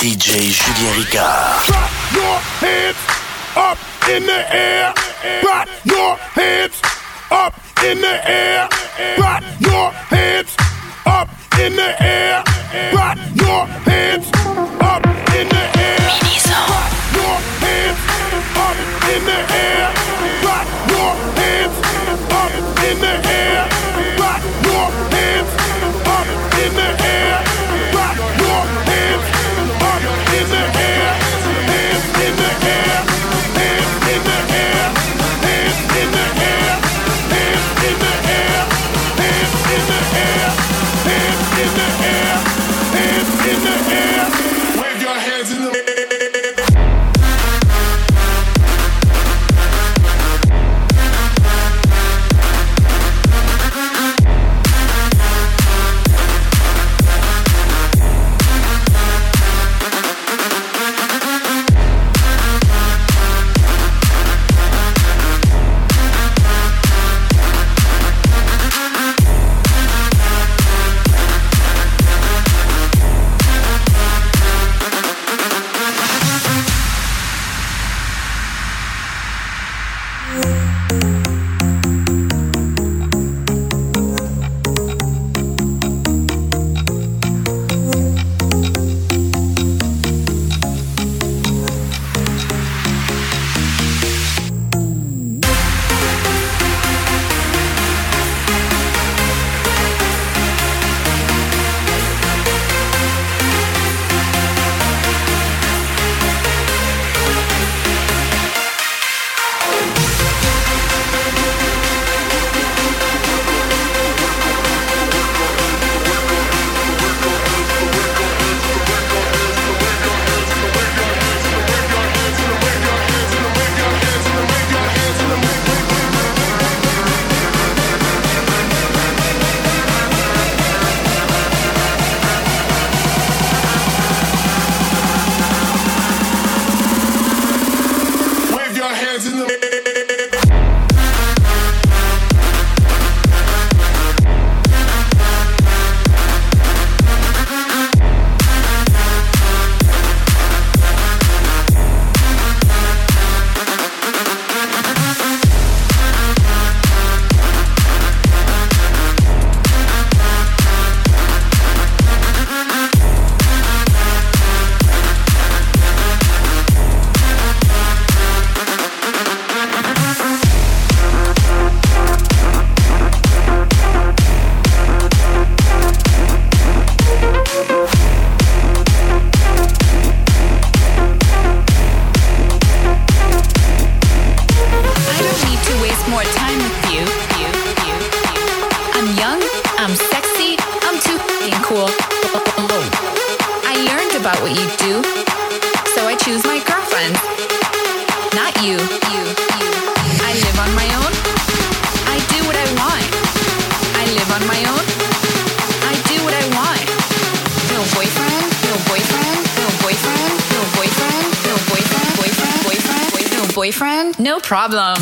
DJ Julien Ricard. Drop your hands up in the air. Put your hands up in the air. Put your hands up in the air. Put your hands up in the air. Put your hands up in the air. Put your hands up in the air. Put your hands up in the air. Put your hands up in the air. Hands in the air. Hands in the air. Hands in the air. Hands in the air. Hands in the air. Hands in the air. Hands in the air. Wave your hands in the air. Boyfriend? No problem.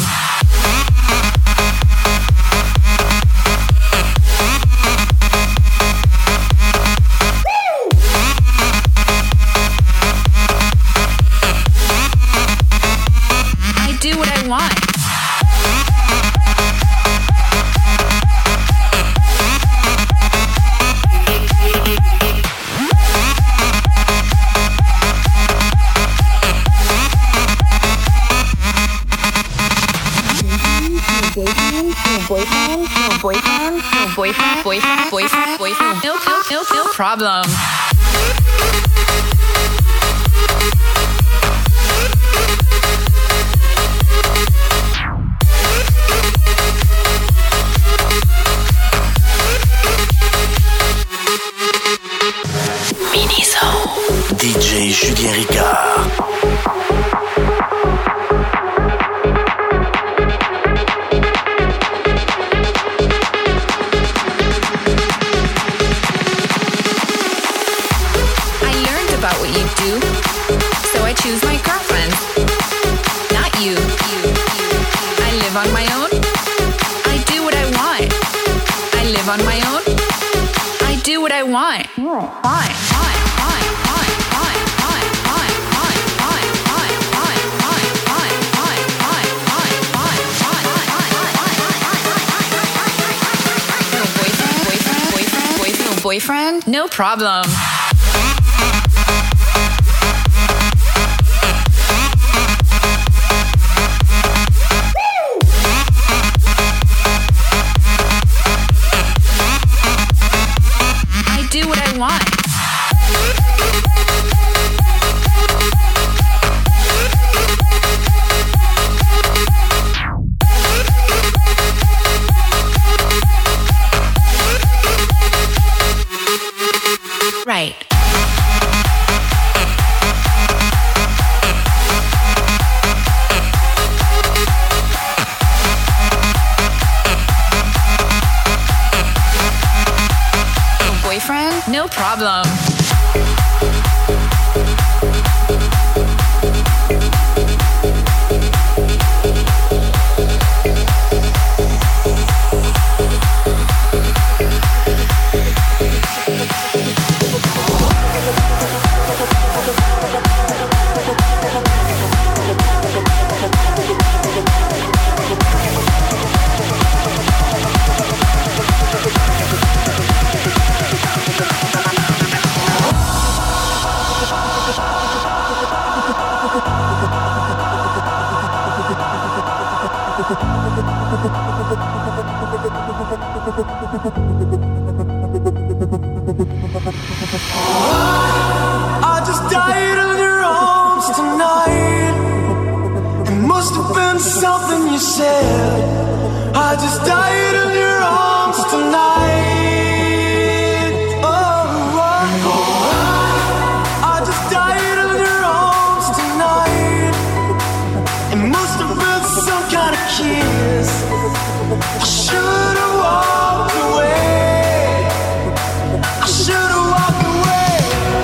I do what I want. Boyfriend, no problem. Miniso. DJ Julien Ricard. Choose my girlfriend, not you. I live on my own. I do what I want. I live on my own. I do what I want. Fine. boyfriend? No problem. I do what I want. Right. Boyfriend? No problem. I just died in your arms tonight. It must have been something you said. I just died in your arms tonight. I just died in your arms tonight. It must have been some kind of kiss. I should have walked away. I should have walked away.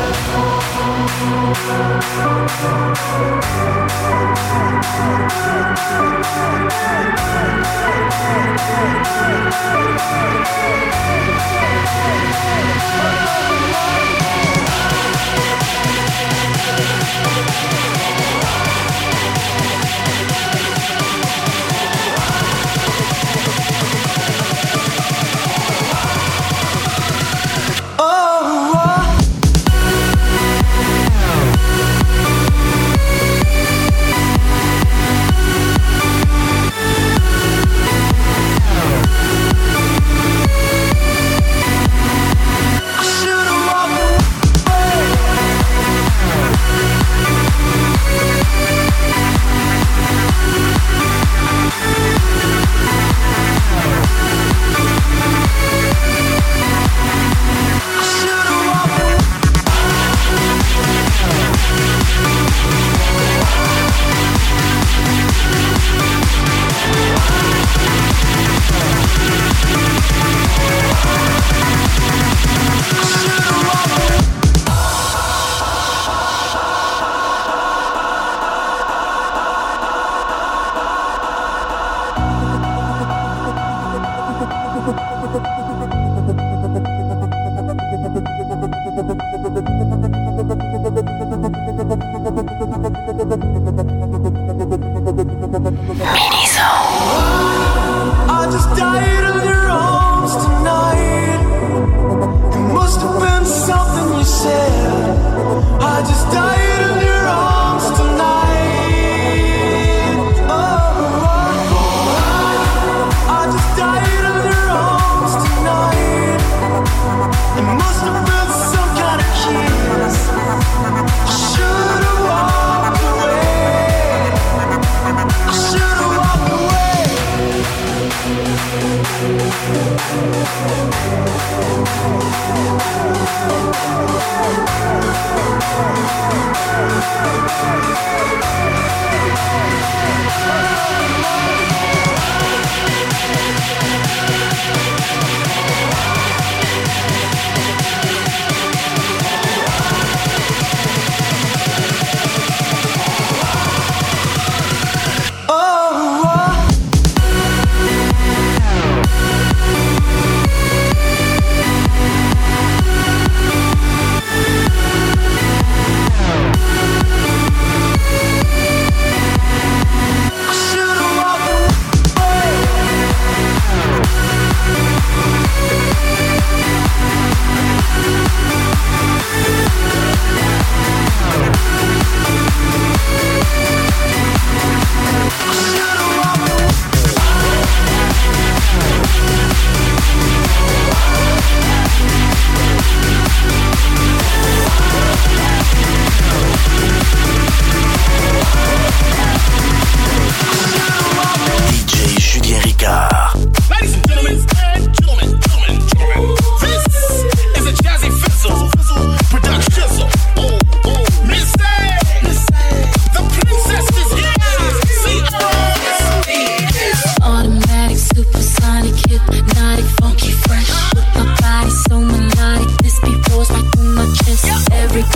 I just died in your arms tonight. It must have been something you said. I just died in your arms tonight. I just died in your arms tonight. It must have been some kind of kiss. I should have walked away. I should have walked away.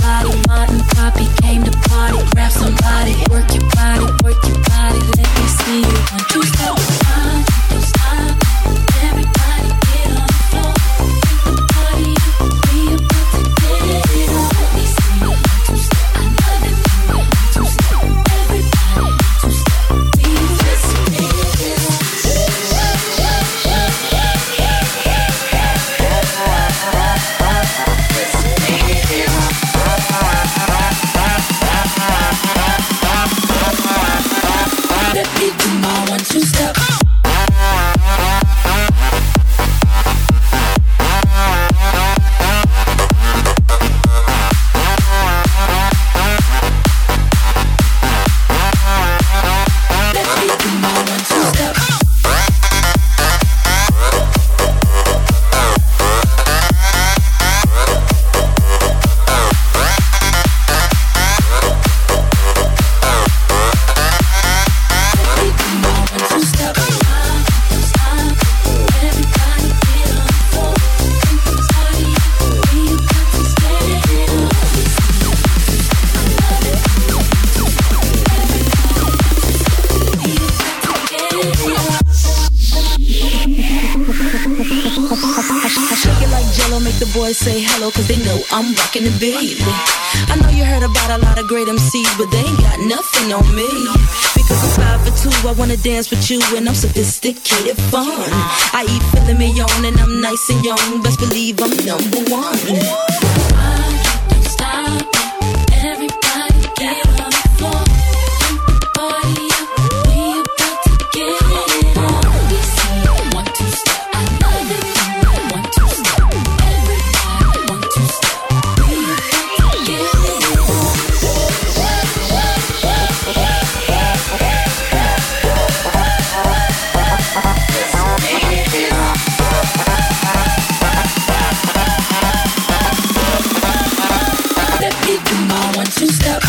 body. Martin Poppy came to party. Grab somebody, work your body, work your body. Let me see you. 1, 2, step. Don't stop. Everybody get on the floor. Take the party up. We about to get it on. Let me see you. 1, 2, step. I love it when you 1, 2, step. Everybody 1, 2, step. We just get it on. Let me do my 1, 2, step. Say hello, cause they know I'm rockin' the baby. I know you heard about a lot of great MCs, but they ain't got nothing on me. Because I'm 5 for 2, I wanna dance with you, and I'm sophisticated fun. I eat filet mignon, and I'm nice and young. Best believe I'm number 1. Don't stop, everybody get on the floor. Take the party up, we about to get it on. We see 1, 2, step, I love it. 1, 2, step. Let me do my 1, 2, step.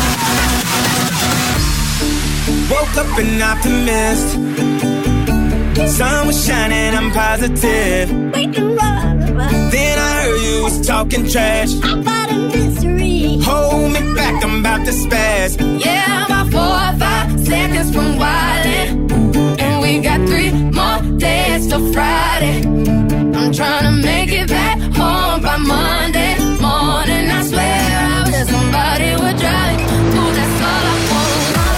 Woke up an optimist. Sun was shining, I'm positive. Then I heard you was talking trash about a mystery. Hold me back, I'm about to spaz. Yeah, I'm about 4 or 5 seconds from wildin', and we got 3 more days till Friday. I'm tryna make it back home by Monday morning. I swear I wish somebody would drive. Ooh, that's all I want.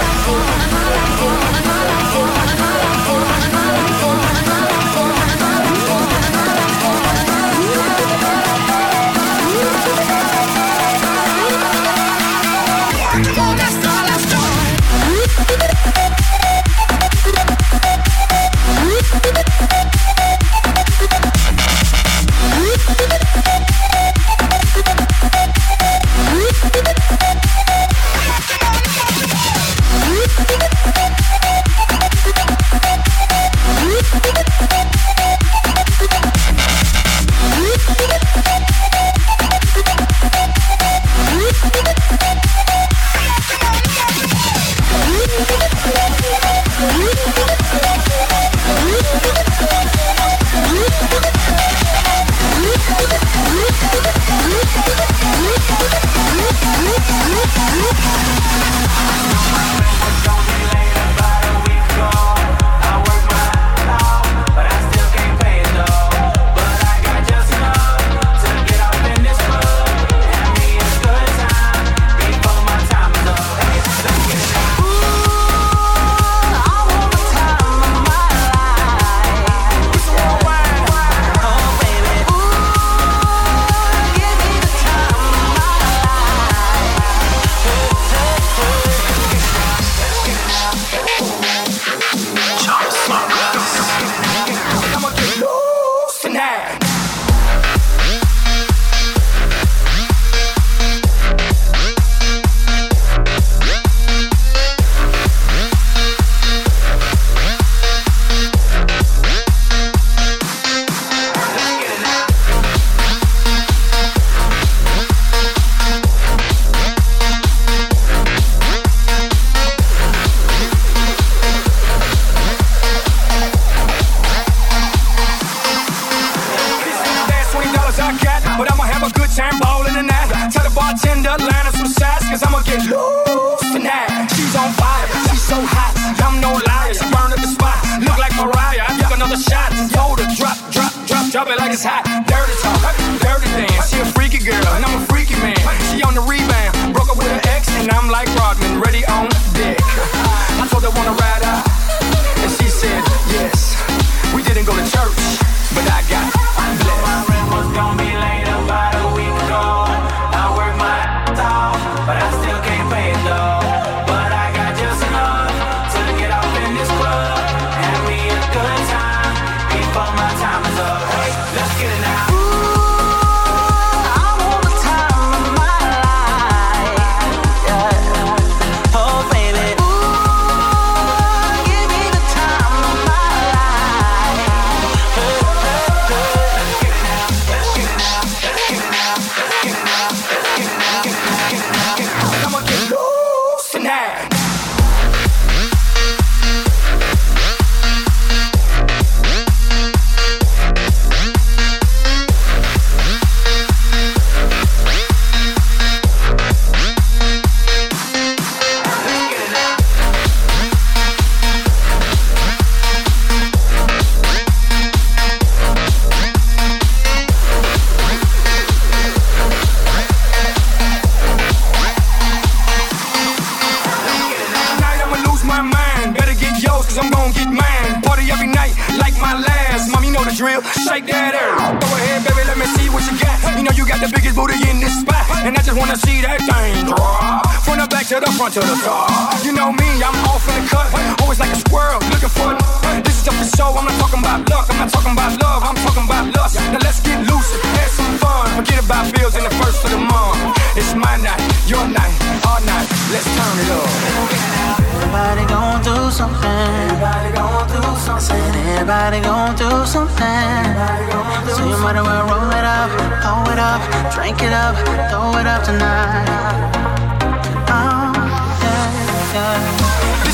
To the top. You know me, I'm off in the cut. Always like a squirrel, looking for this is just a show. I'm not talking about luck, I'm not talking about love, I'm talking about lust. Now let's get loose, have some fun. Forget about bills in the first of the month. It's my night, your night, our night. Let's turn it up. Everybody gon' do something. Everybody gon' do something. Everybody gon' do something. So you might as well roll it up, pour it up, drink it up, throw it up tonight. This for everybody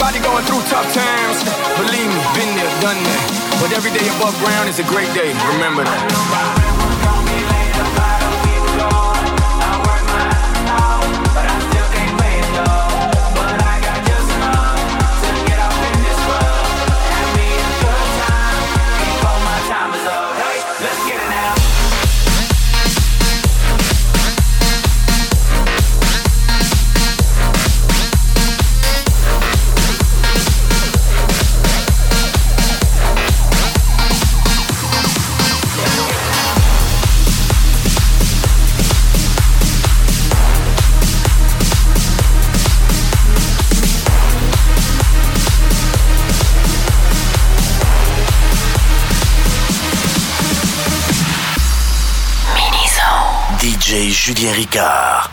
Everybody going through tough times. Believe me, been there, done that. But every day above ground is a great day. Remember that. DJ Julien Ricard.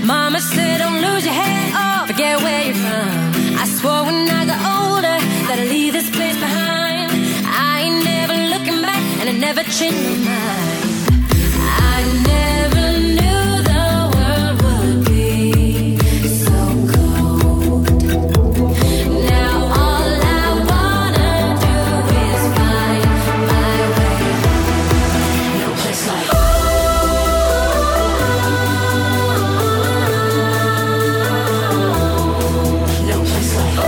Mama said don't lose your head or forget where you're from. I swore when I got older that I'd leave this place behind. I ain't never looking back and I never changed my mind. I never knew the world would be so cold. Now all I wanna do is find my way. No place like no place like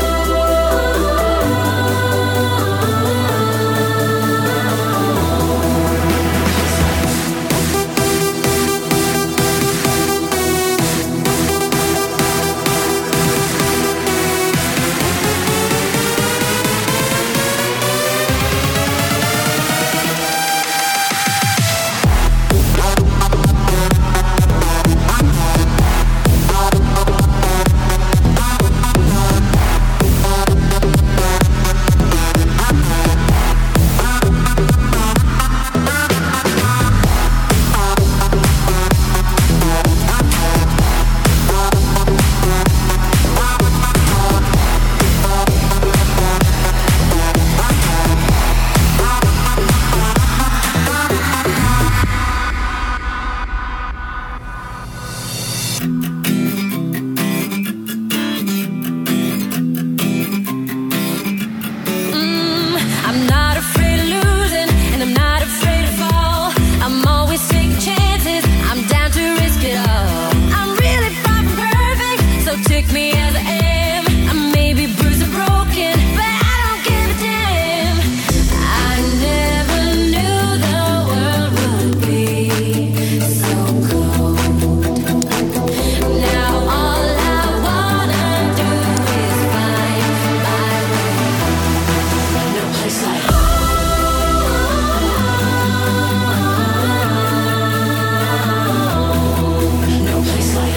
I'm not afraid of losing, and I'm not afraid to fall. I'm always taking chances, I'm down to risk it all. I'm really far from perfect, so take me as I am. I may be bruised and broken, but I don't give a damn. I never knew the world would be so cold. Now all I wanna do is find my way. No place like no place like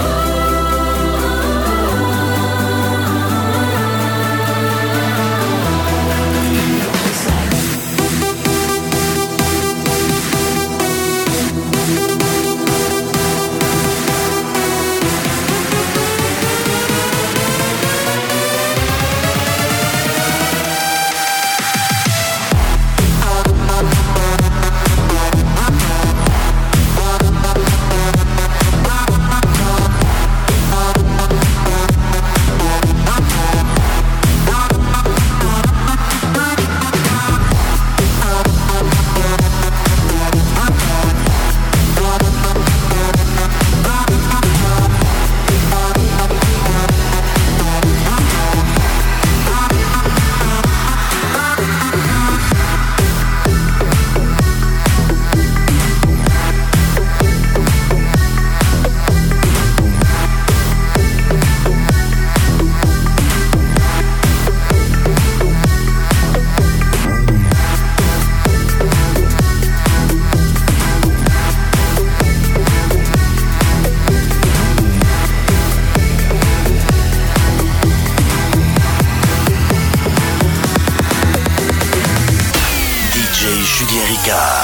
DJ Julien Ricard.